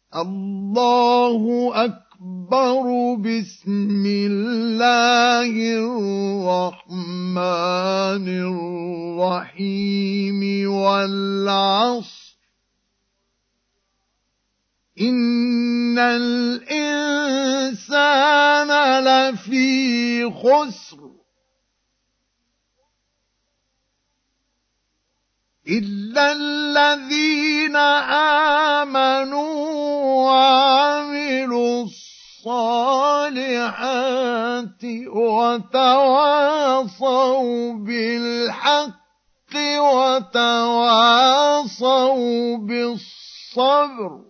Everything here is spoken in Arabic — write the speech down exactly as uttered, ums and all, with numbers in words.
الله أكبر. بسم الله الرحمن الرحيم. والعصر إن الإنسان لفي خسر إلا الذين آمنوا وعملوا الصالحات وتواصوا بالحق وتواصوا بالصبر.